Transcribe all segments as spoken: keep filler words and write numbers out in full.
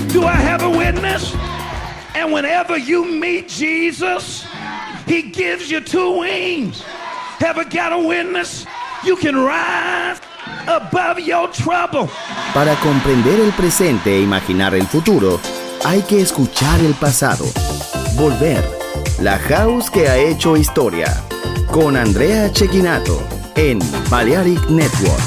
Do I have a witness? And whenever you meet Jesus, he gives you two wings. Ever got a witness? You can rise above your trouble. Para comprender el presente e imaginar el futuro, hay que escuchar el pasado. Volver. La House que ha hecho historia. Con Andrea Cecchinato en Balearic Network.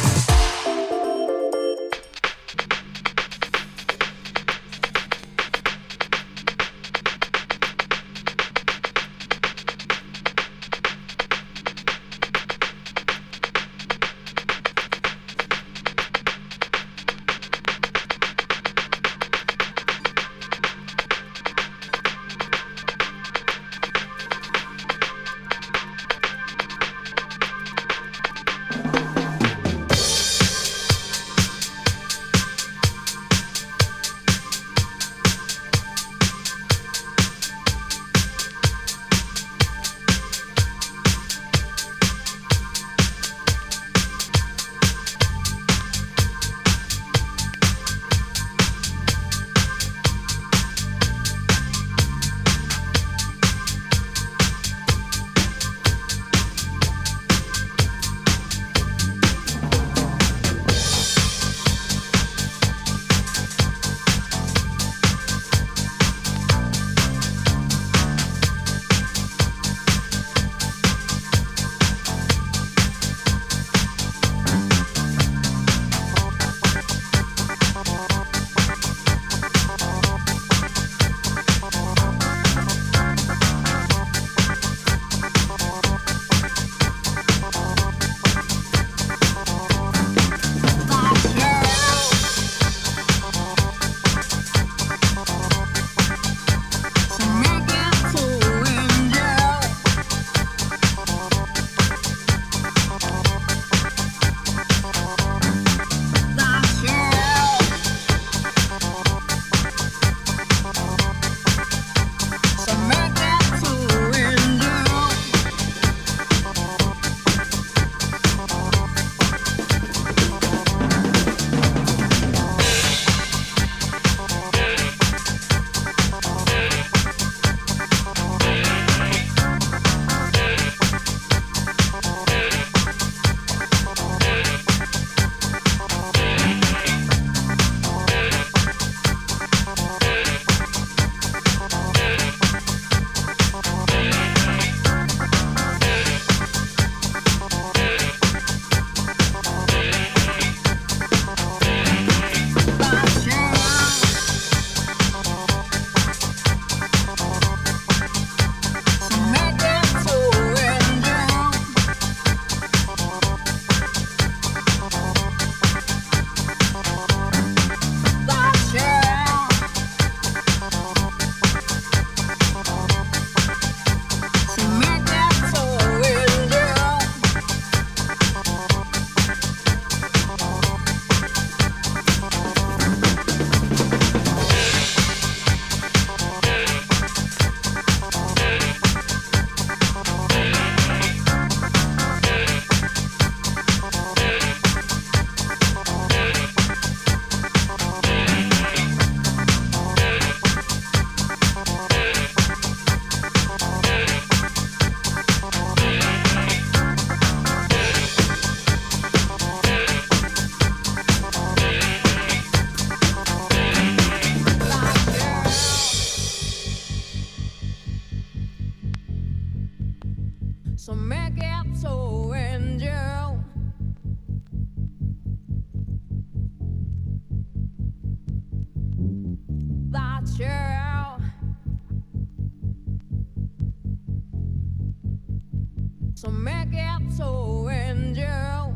So make it so angel. That's you. So make it so angel.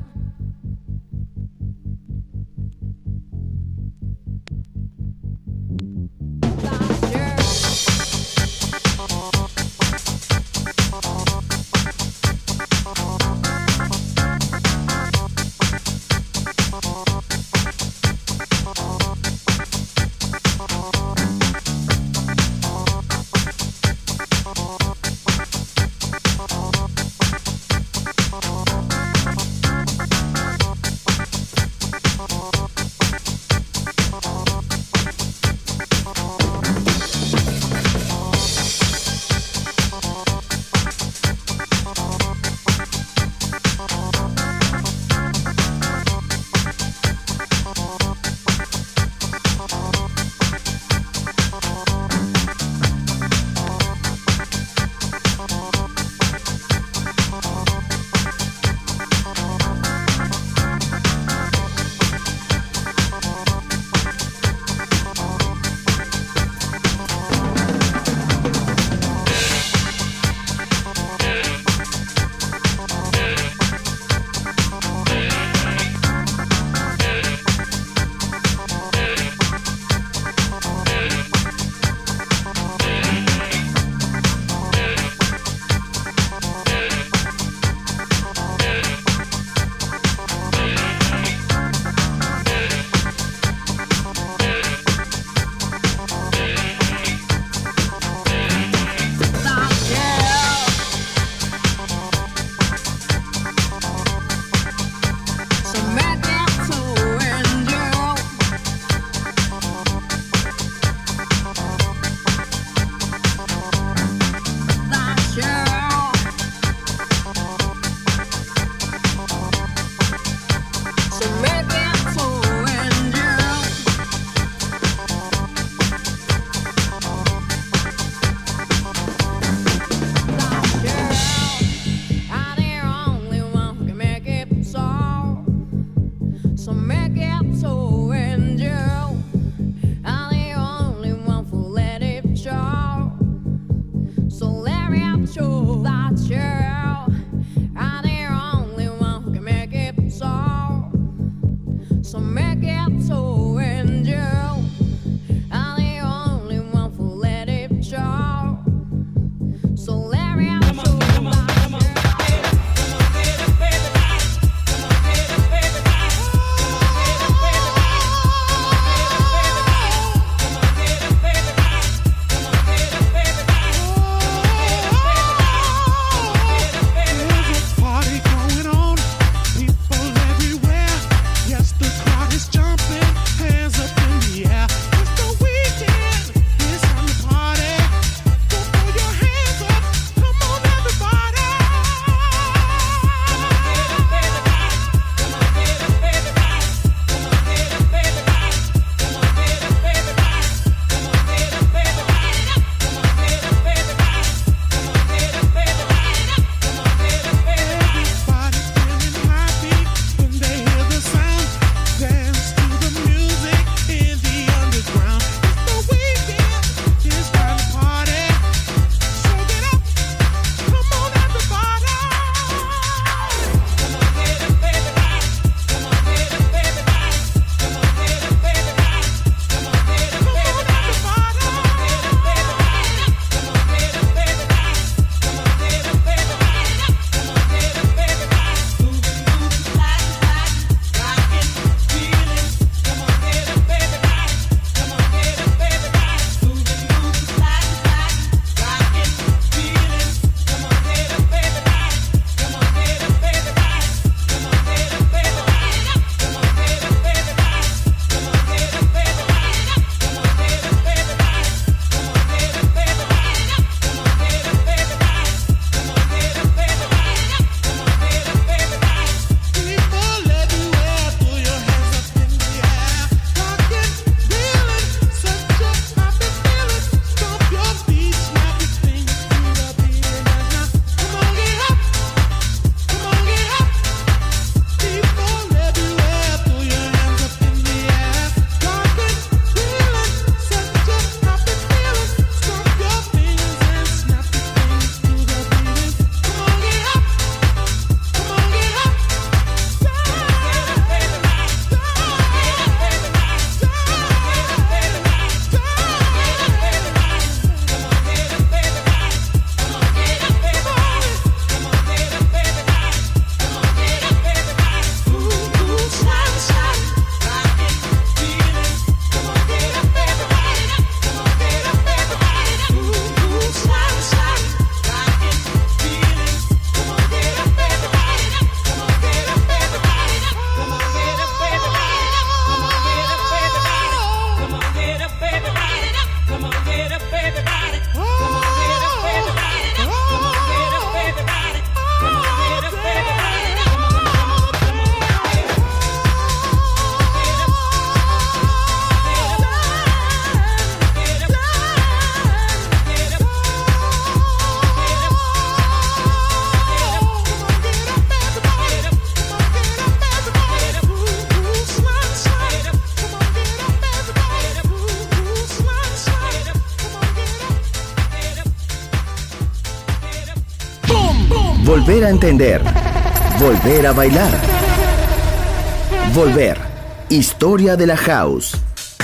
Volver a entender. Volver a bailar. Volver. Historia de la house.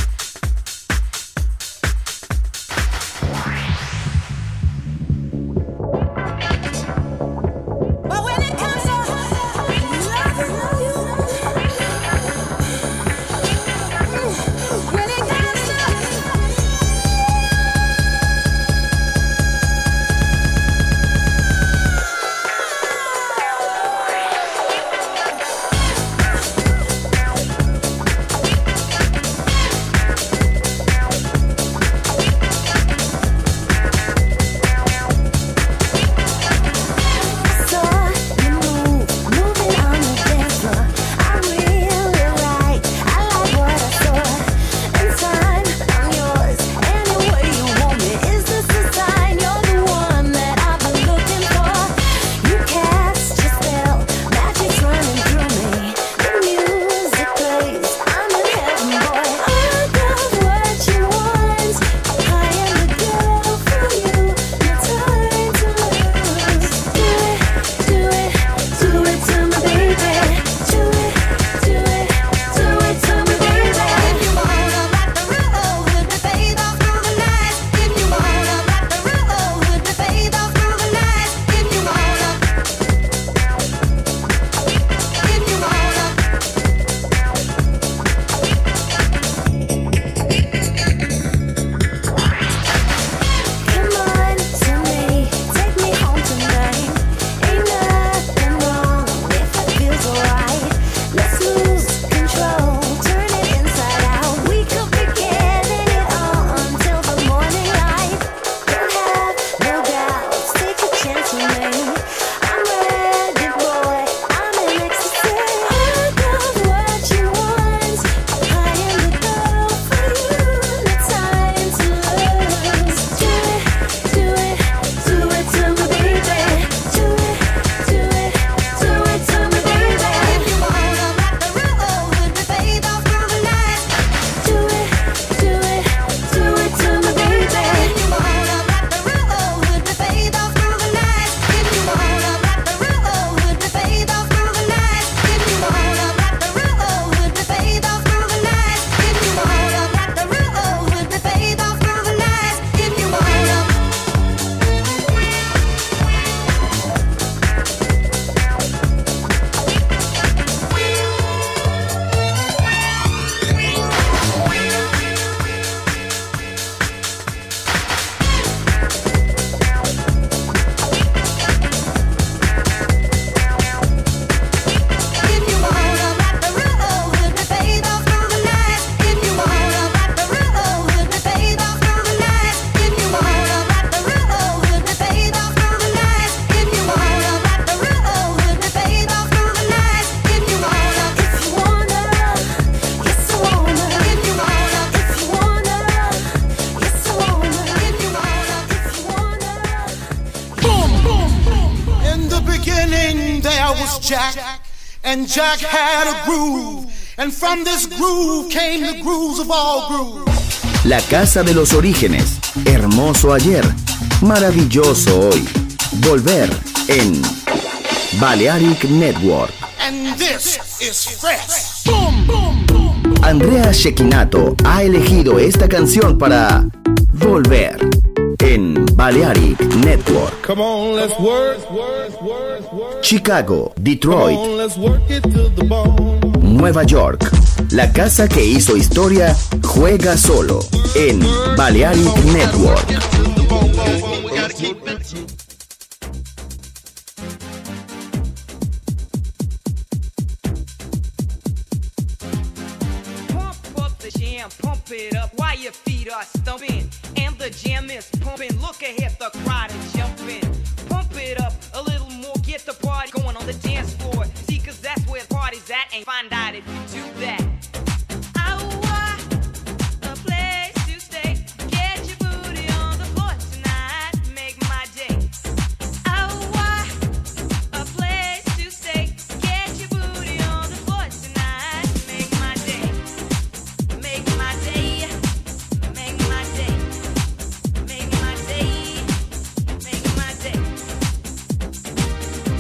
Jack, and Jack had a groove, and from this groove came the grooves of all grooves. La casa de los orígenes, hermoso ayer, maravilloso hoy. Volver en Balearic Network. And this is fresh. Boom, boom, boom. Andrea Cecchinato ha elegido esta canción para Volver en Balearic Network. Come on, let's work. Chicago, Detroit, Come on, let's work it to the bone. Nueva York. La casa que hizo historia juega solo en Balearic Network. Pump up the jam, pump it up while your feet are stumping. And the jam is pumping. Look ahead, the crowd is jumping. Pump it up a little more, get the party going on the dance floor. See, cause that's where the party's at, and find out if you do that. I want a place to stay. Get your booty on the floor tonight, make my day. I want a place to stay. Get your booty on the floor tonight, make my day. Make my day. Make my day. Make my day. Make my day.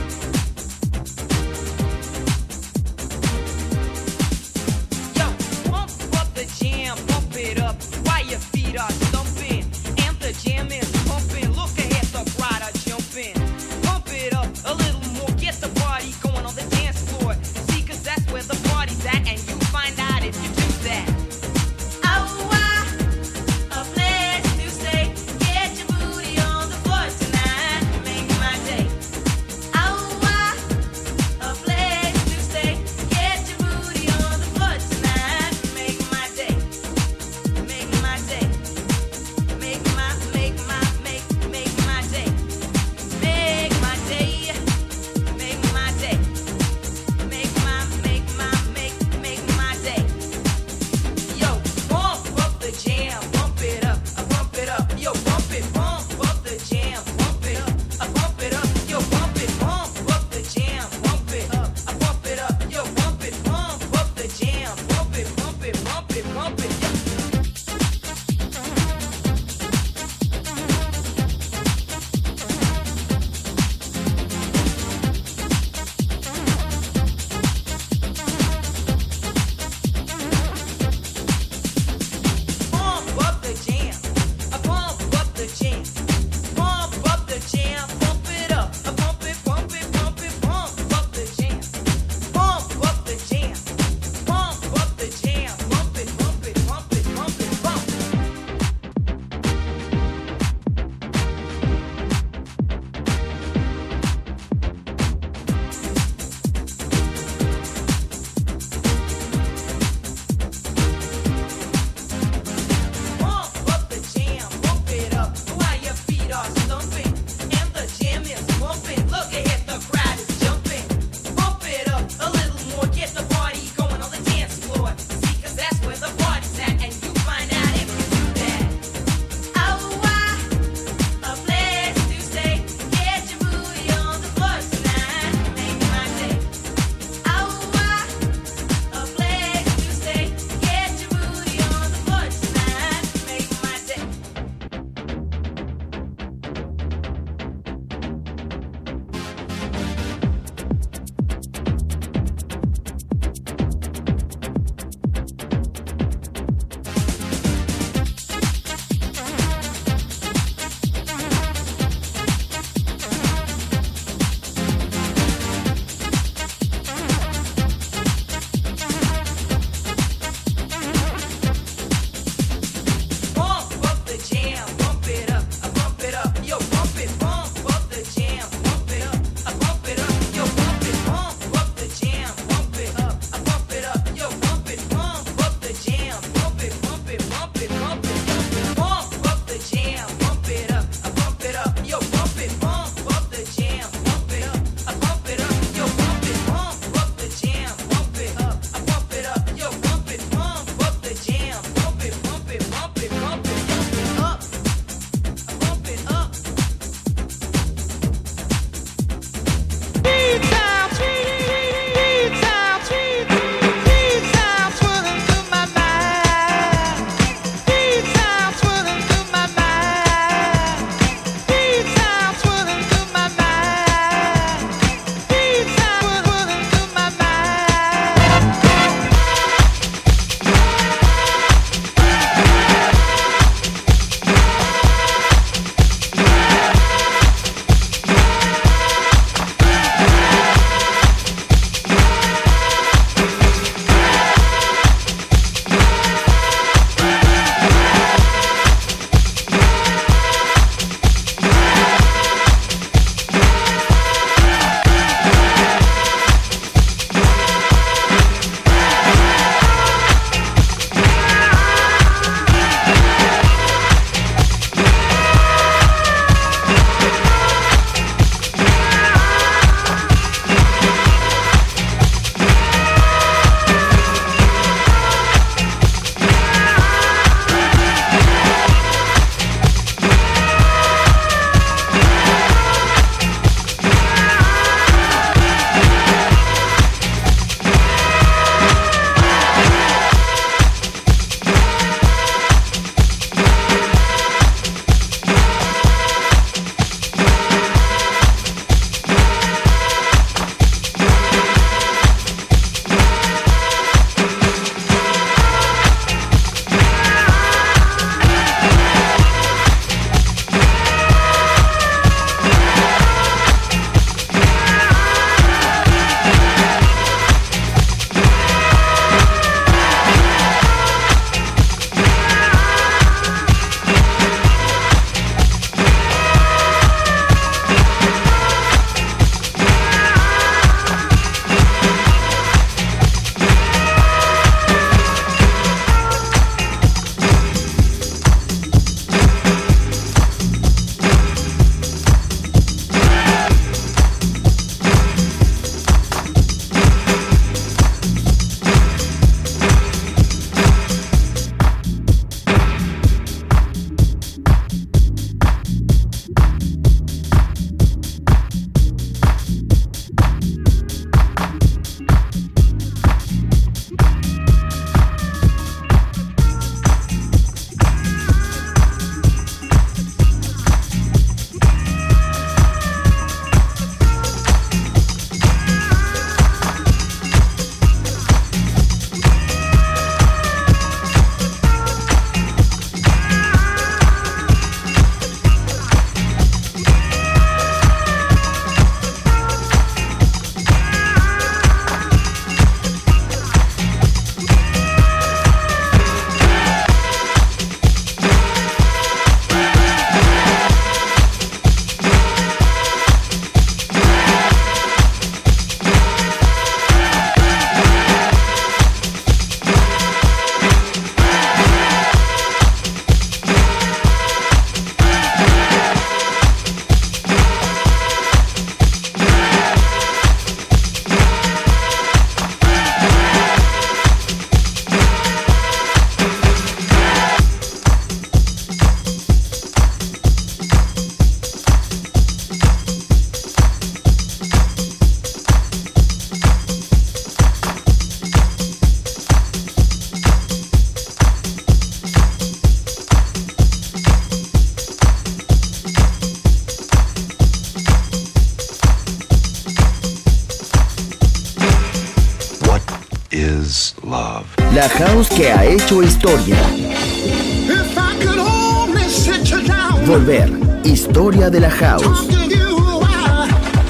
is love. La house que ha hecho historia. If I could only sit you down, Volver. Historia de la house. talk to you while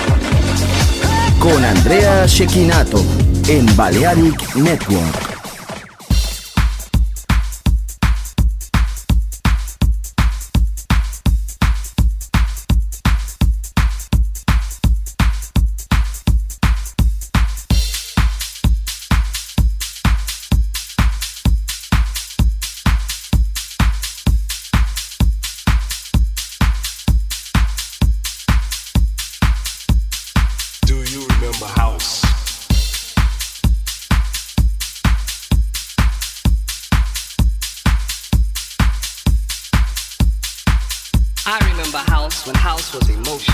Con Andrea Cecchinato en Balearic Network. Do you remember house? I remember house when house was emotion.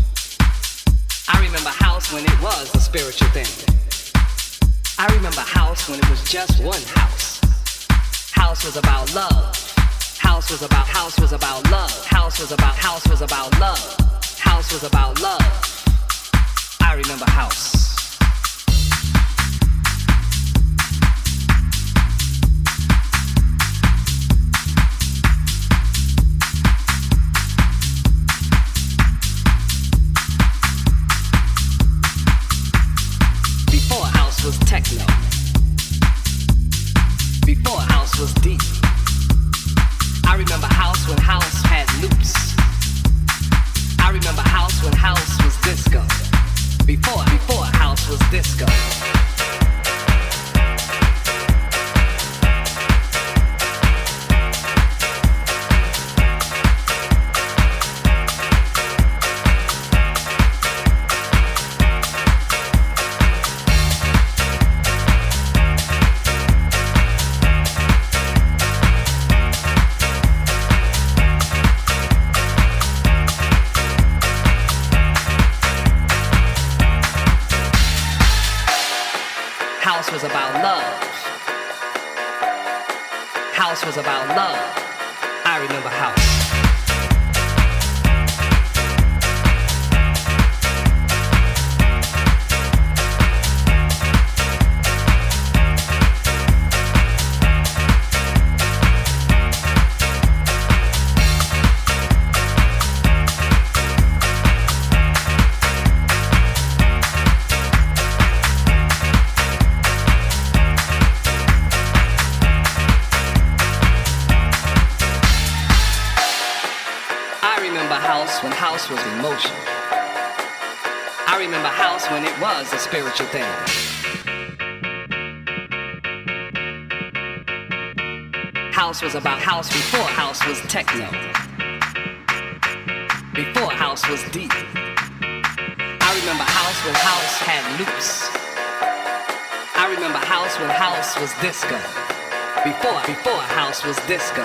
I remember house when it was a spiritual thing. I remember house when it was just one house. House was about love. House was about house was about love. House was about house was about love. House was about love. I remember house. Before house was techno. Before house was deep. I remember house when house had loops. I remember house when house was disco. Before, before house was disco. House was about love. House was about love. I remember house. When house was emotion. I remember house when it was a spiritual thing. House was about house before house was techno. Before house was deep. I remember house when house had loops. I remember house when house was disco. Before, before house was disco.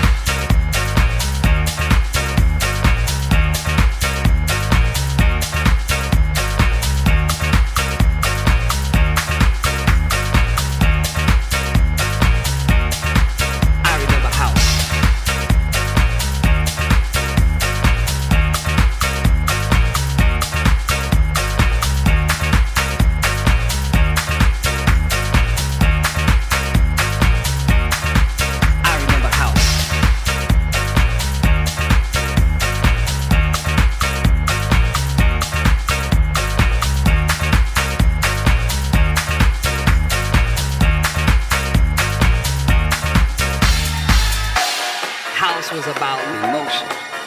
House was about emotion.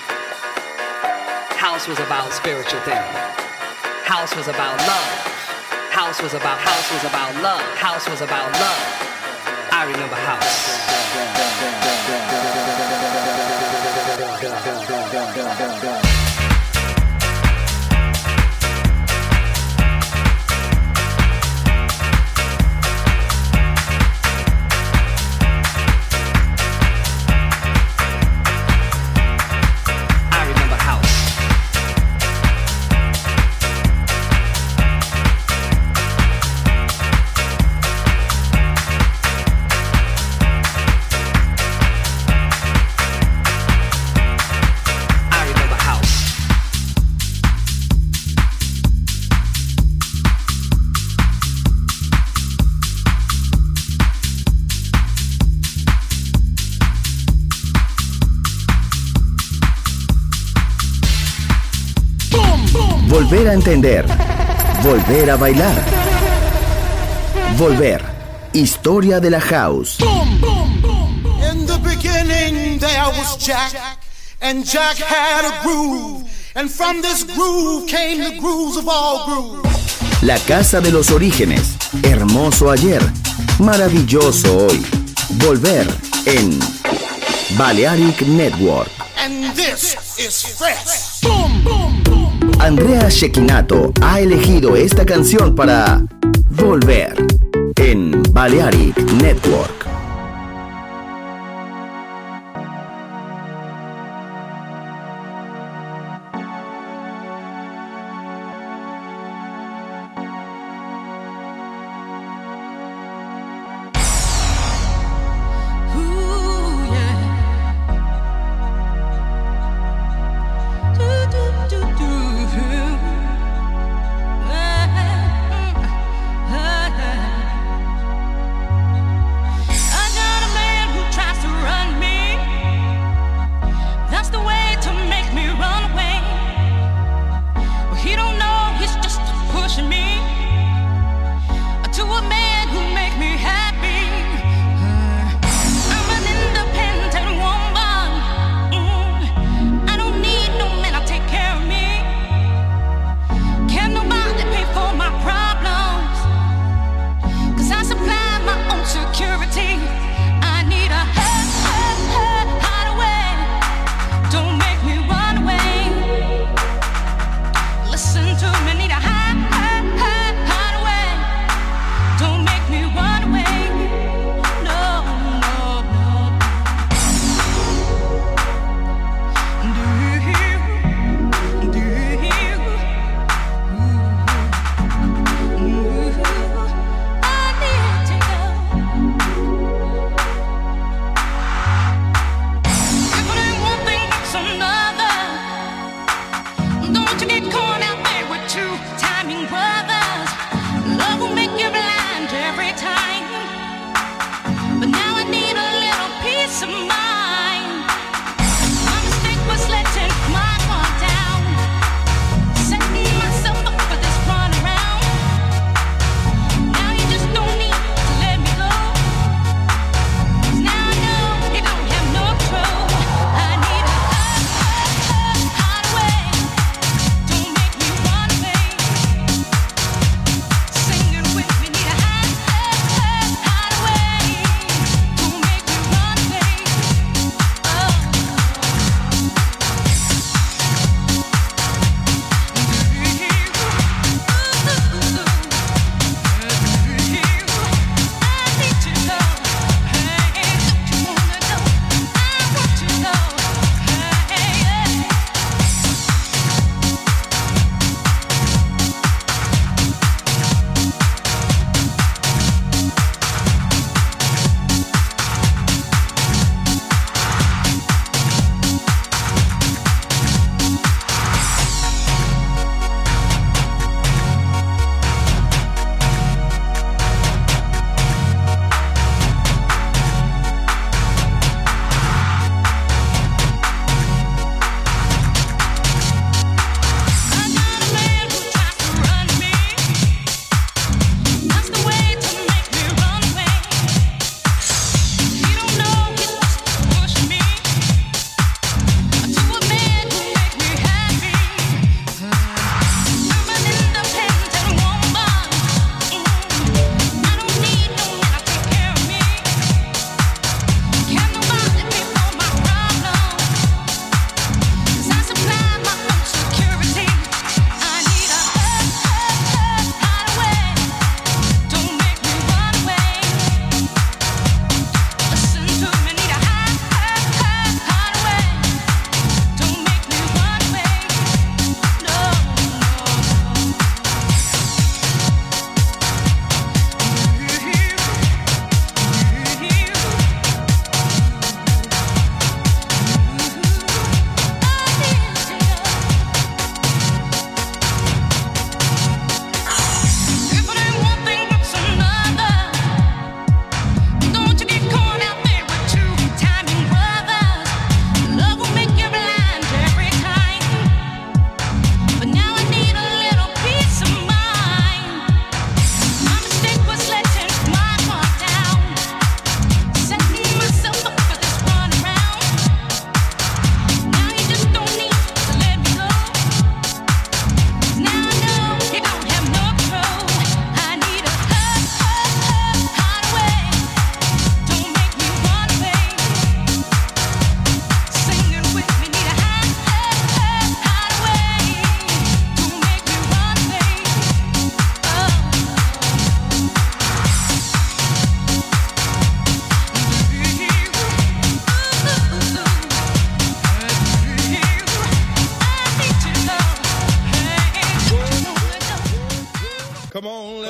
House was about spiritual thing. House was about love. House was about house was about love. House was about love. I remember house. I remember house. Volver a entender. Volver a bailar. Volver. Historia de la house. In the beginning there was Jack, and Jack had a groove, and from this groove came the grooves of all grooves. La casa de los orígenes. Hermoso ayer. Maravilloso hoy. Volver en Balearic Network. And this is fresh. Boom, boom, boom. Andrea Cecchinato ha elegido esta canción para Volver en Balearic Network.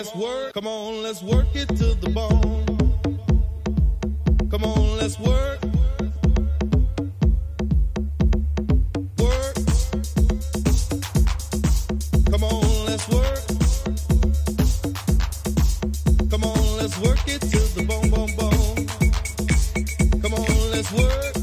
let's work. Come on, let's work it to the bone. Come on, let's work. Work. Come on, let's work. Come on, let's work it to the bone, bone, bone. Come on, let's work.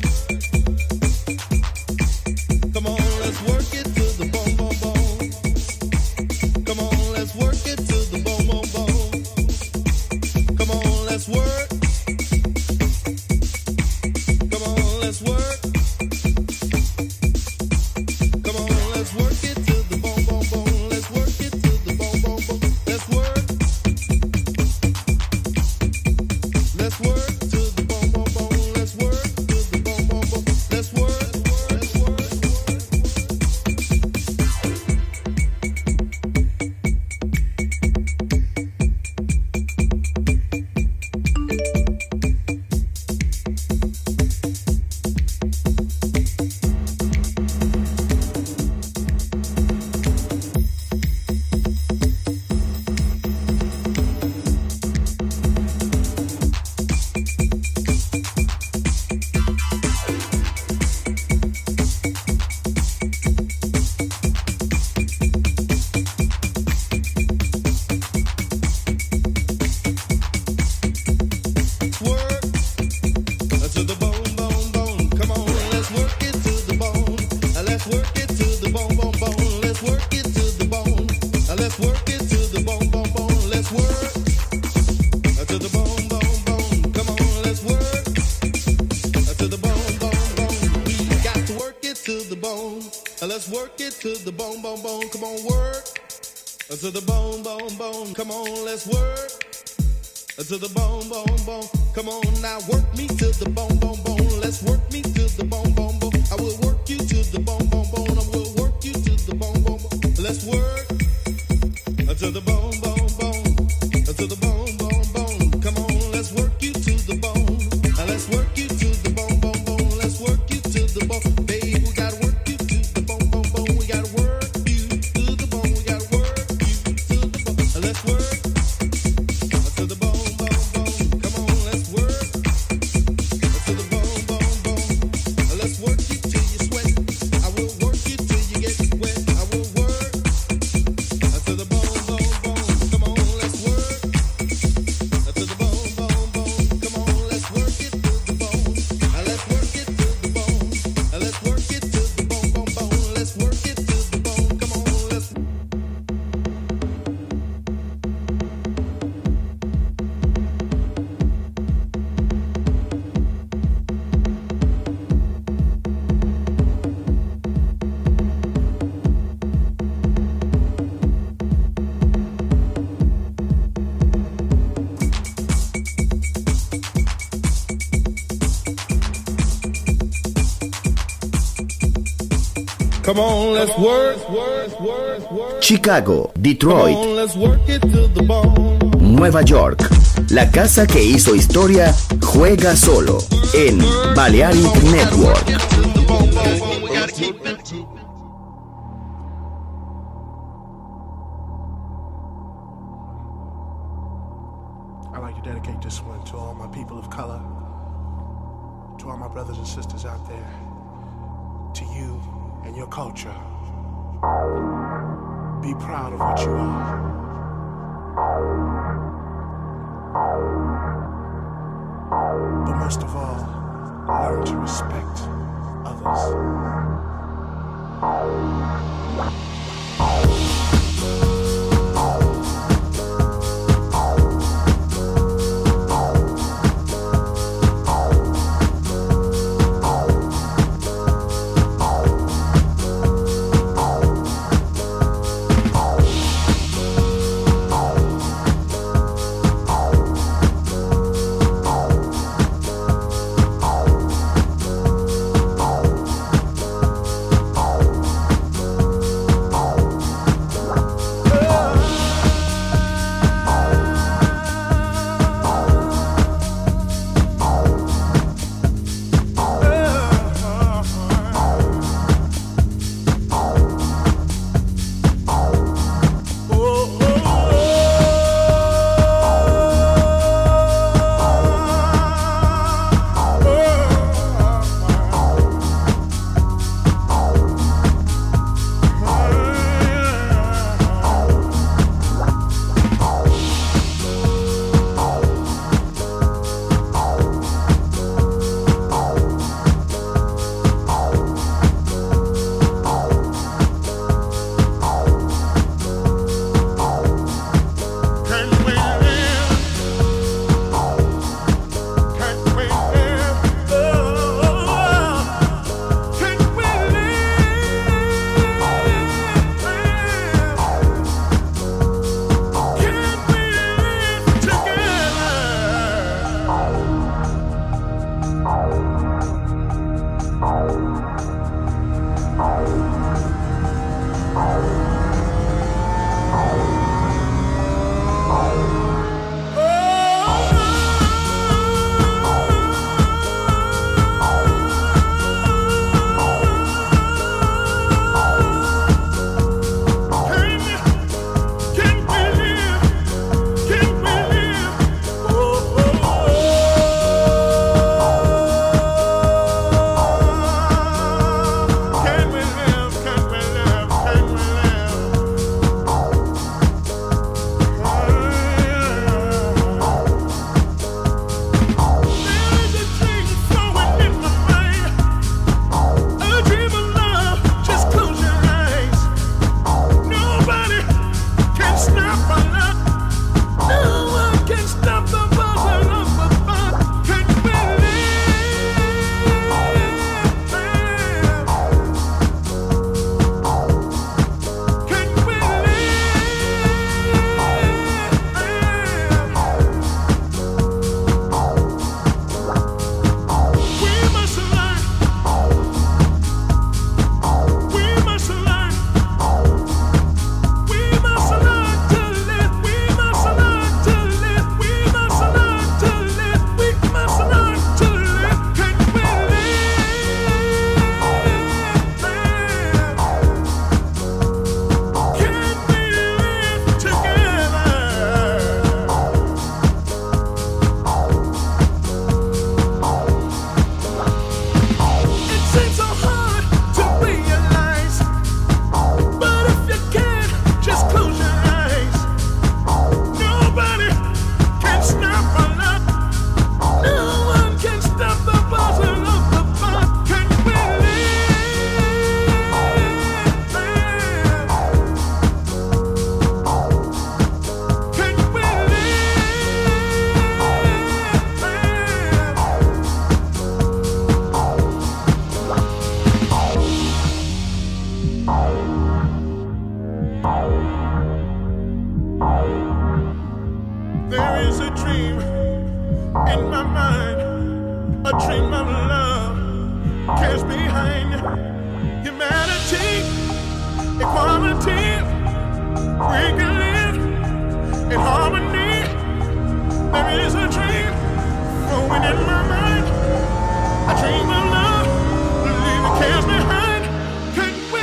Come on, let's work it to the bone, bone, bone. Come on, let's work it to the bone, bone, bone. Come on, let's work. Come on, let's work. Come on, let's work it to the bone, bone, bone. Let's work it to the bone, bone, bone. Let's work. Let's work to the bone, bone, bone. Let's work to the bone, bone, bone. Let's work. Let's work. Work to the bone, bone, bone. Come on, let's work it to the bone. Let's work it to the bone, bone, bone. Let's work it to the bone. Let's work it to the bone, bone, bone. Let's work to the bone, bone, bone. Come on, let's work to the bone, bone, bone. We got to work it to the bone. Let's work it to the bone, bone, bone. Come on, work to the bone, bone, bone. Come on, let's work. To the bone, bone, bone. Come on now, work me to the bone, bone, bone. Let's work me to the bone, bone, bone. I will work you to the bone, bone, bone. I will work you to the bone, bone, bone. Let's work to the bone, bone, bone. To the bone, bone, bone. Come on, let's work you to the bone. Let's work you to the bone, bone, bone. Let's work you to the bone. Babe, we gotta work you to the bone, bone, bone. We gotta work you to the bone. We gotta work you to the bone. Let's work to the bone. Come on, let's work. Chicago, Detroit, Come on, let's work it to the bone. Nueva York. La casa que hizo historia juega solo en Balearic Network. I'd like to dedicate this one to all my people of color, to all my brothers and sisters out there, to you and your culture. Be proud of what you are. But most of all, learn to respect others. dream of love cares behind humanity, equality. We can live in harmony. There is a dream growing in my mind. A dream of love, leaving cares behind. Can we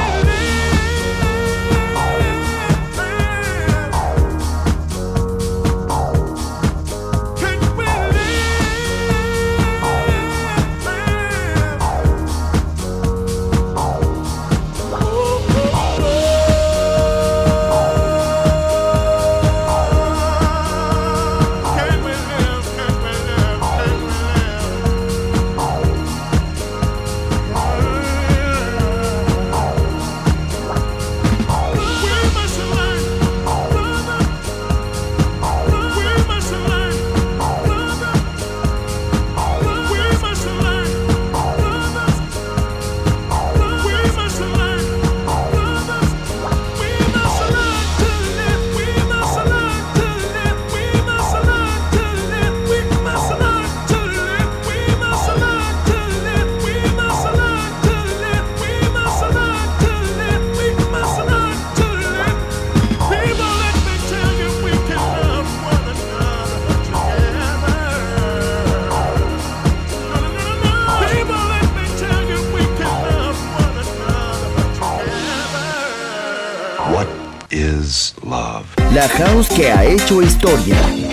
La house que ha hecho historia.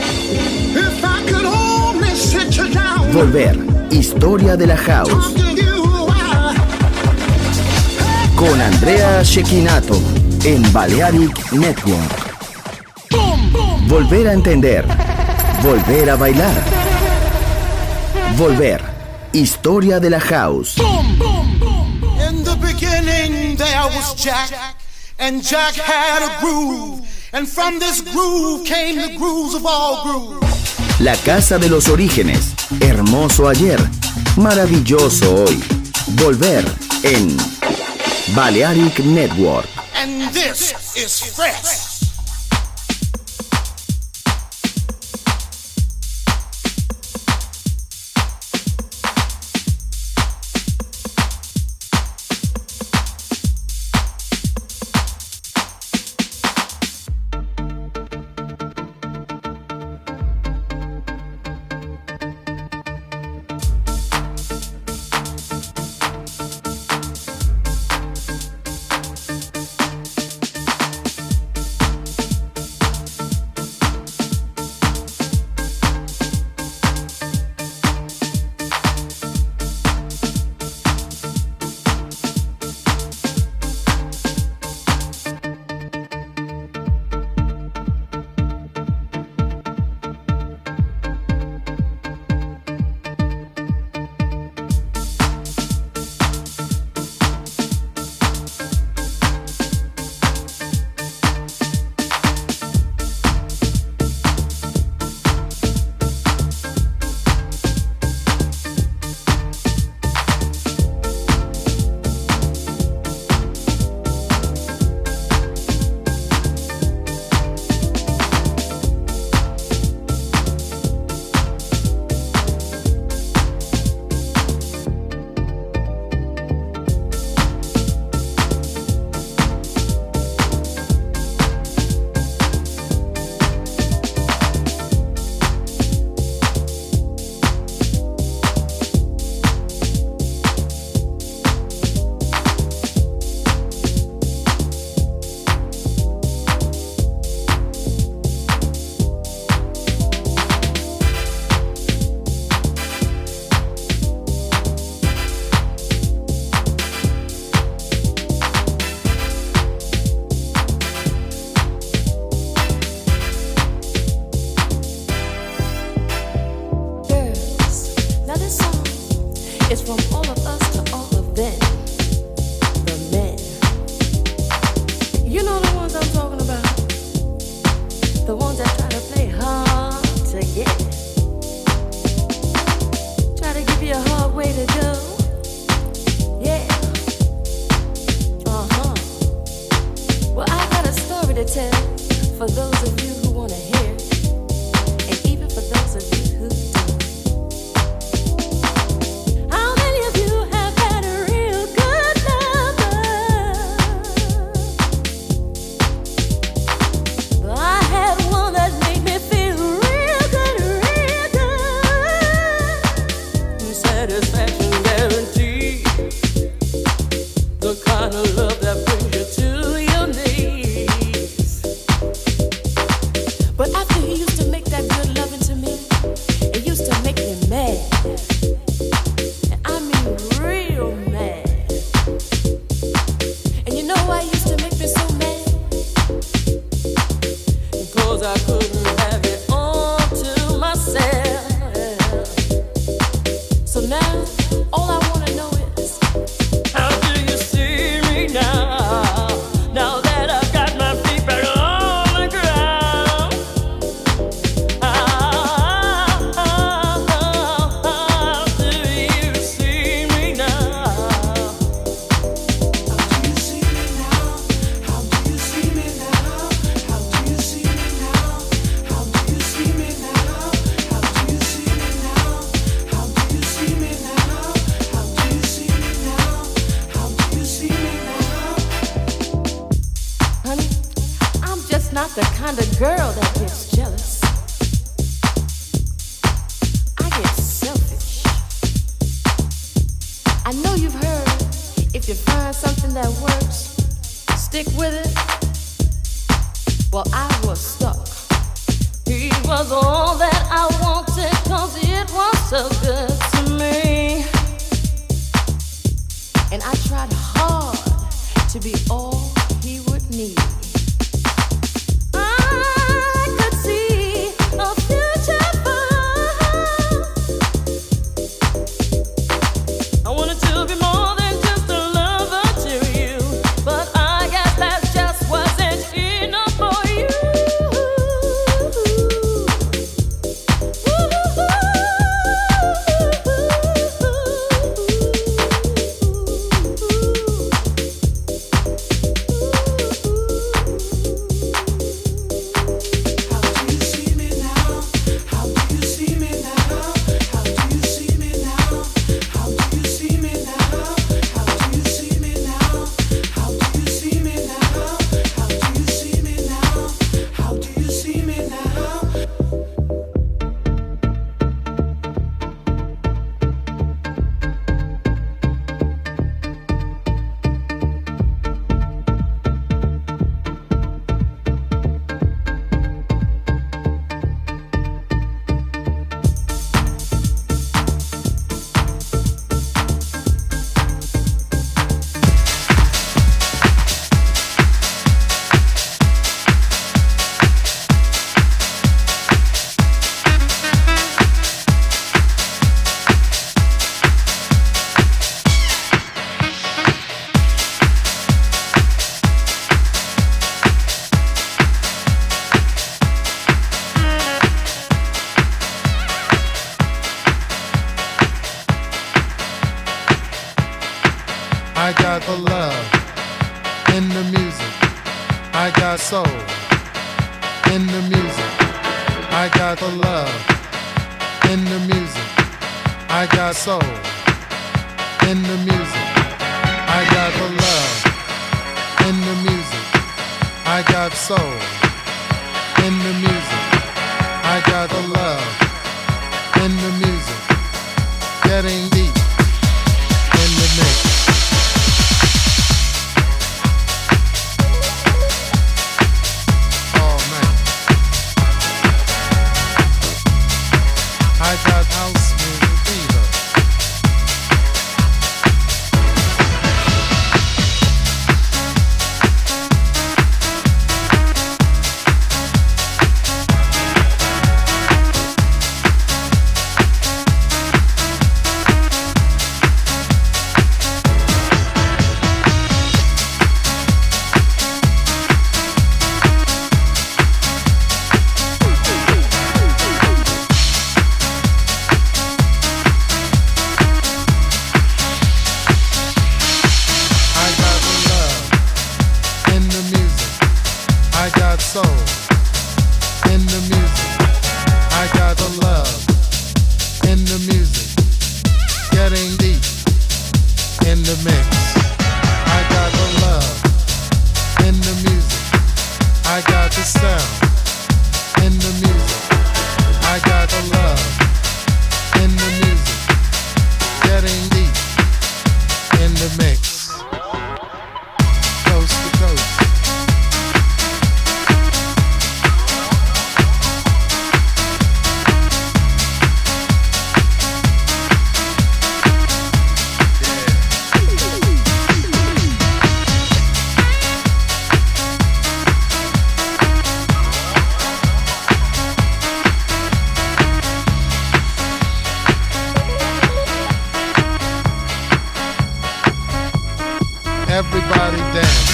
Volver, historia de la house. Con Andrea Cecchinato en Balearic Network. Volver a entender. Volver a bailar. Volver, historia de la house. In the beginning there was Jack, and Jack had a groove. And from this groove came the grooves of all grooves. La casa de los orígenes. Hermoso ayer. Maravilloso hoy. Volver en Balearic Network. And this is fresh. not the kind of girl that gets jealous. I get selfish. I know you've heard, if you find something that works, stick with it. Well, I was stuck. He was all that I wanted, 'cause it was so good to me. And I tried hard to be all he would need. I could see a future for I wanted to be more than just a lover to you, but I guess that just wasn't enough for you. I got the love in the music. I got soul in the music. I got the love in the music. I got soul in the music. I got the love in the music. I got soul in the music. I got the love in the music. Getting deep in the mix. I got house music fever. Soul in the music. I got the love in the music. Getting deep in the mix. I got the love in the music. I got the sound in the music. I got the love in the music. Getting deep in the mix. Coast to coast. Everybody dance.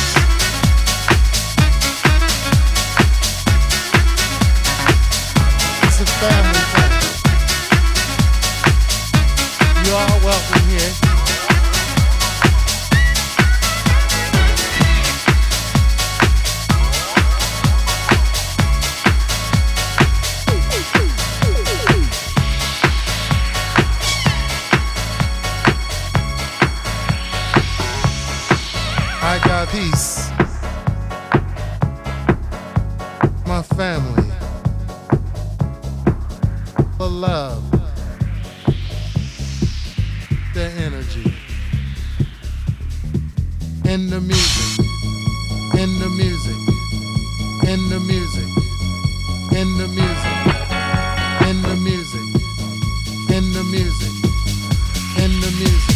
It's a family thing. You are welcome here. I got peace family, the love, the energy. In the music, in the music, in the music, in the music, in the music, in the music, in the music.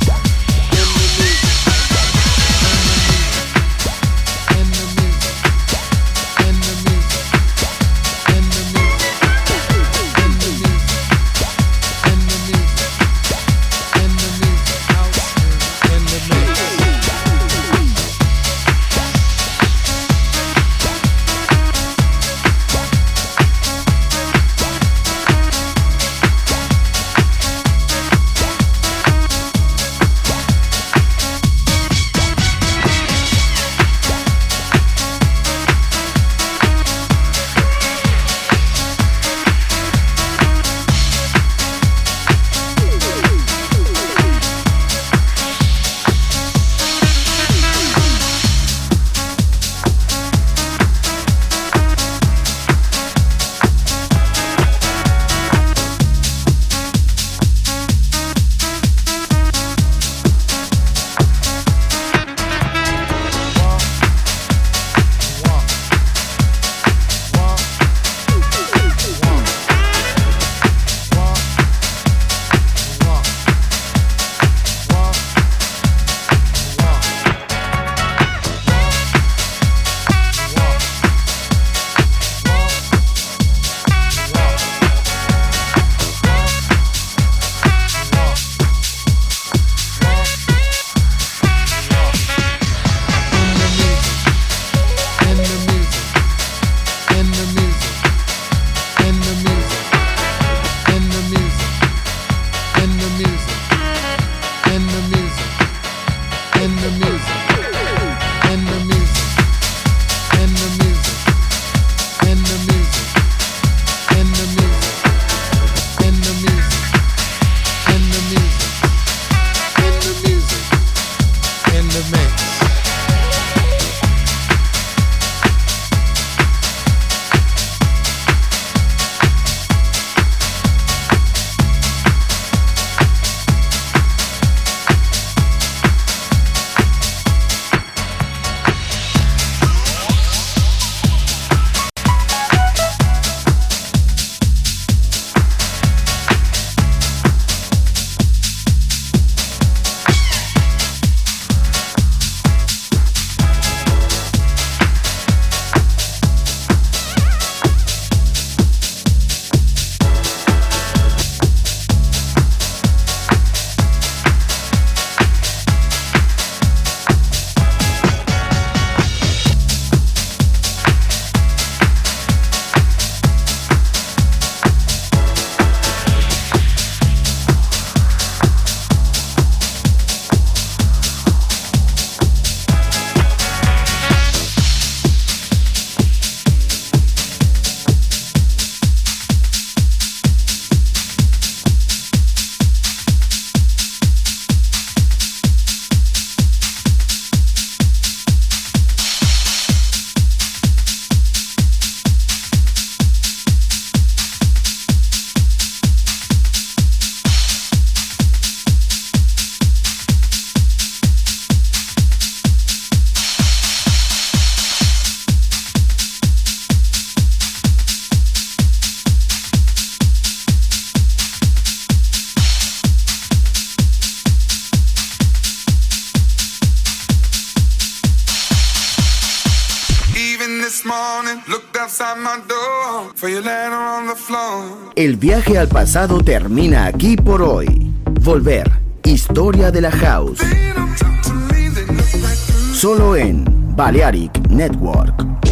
El viaje al pasado termina aquí por hoy. Volver, historia de la house. Solo en Balearic Network.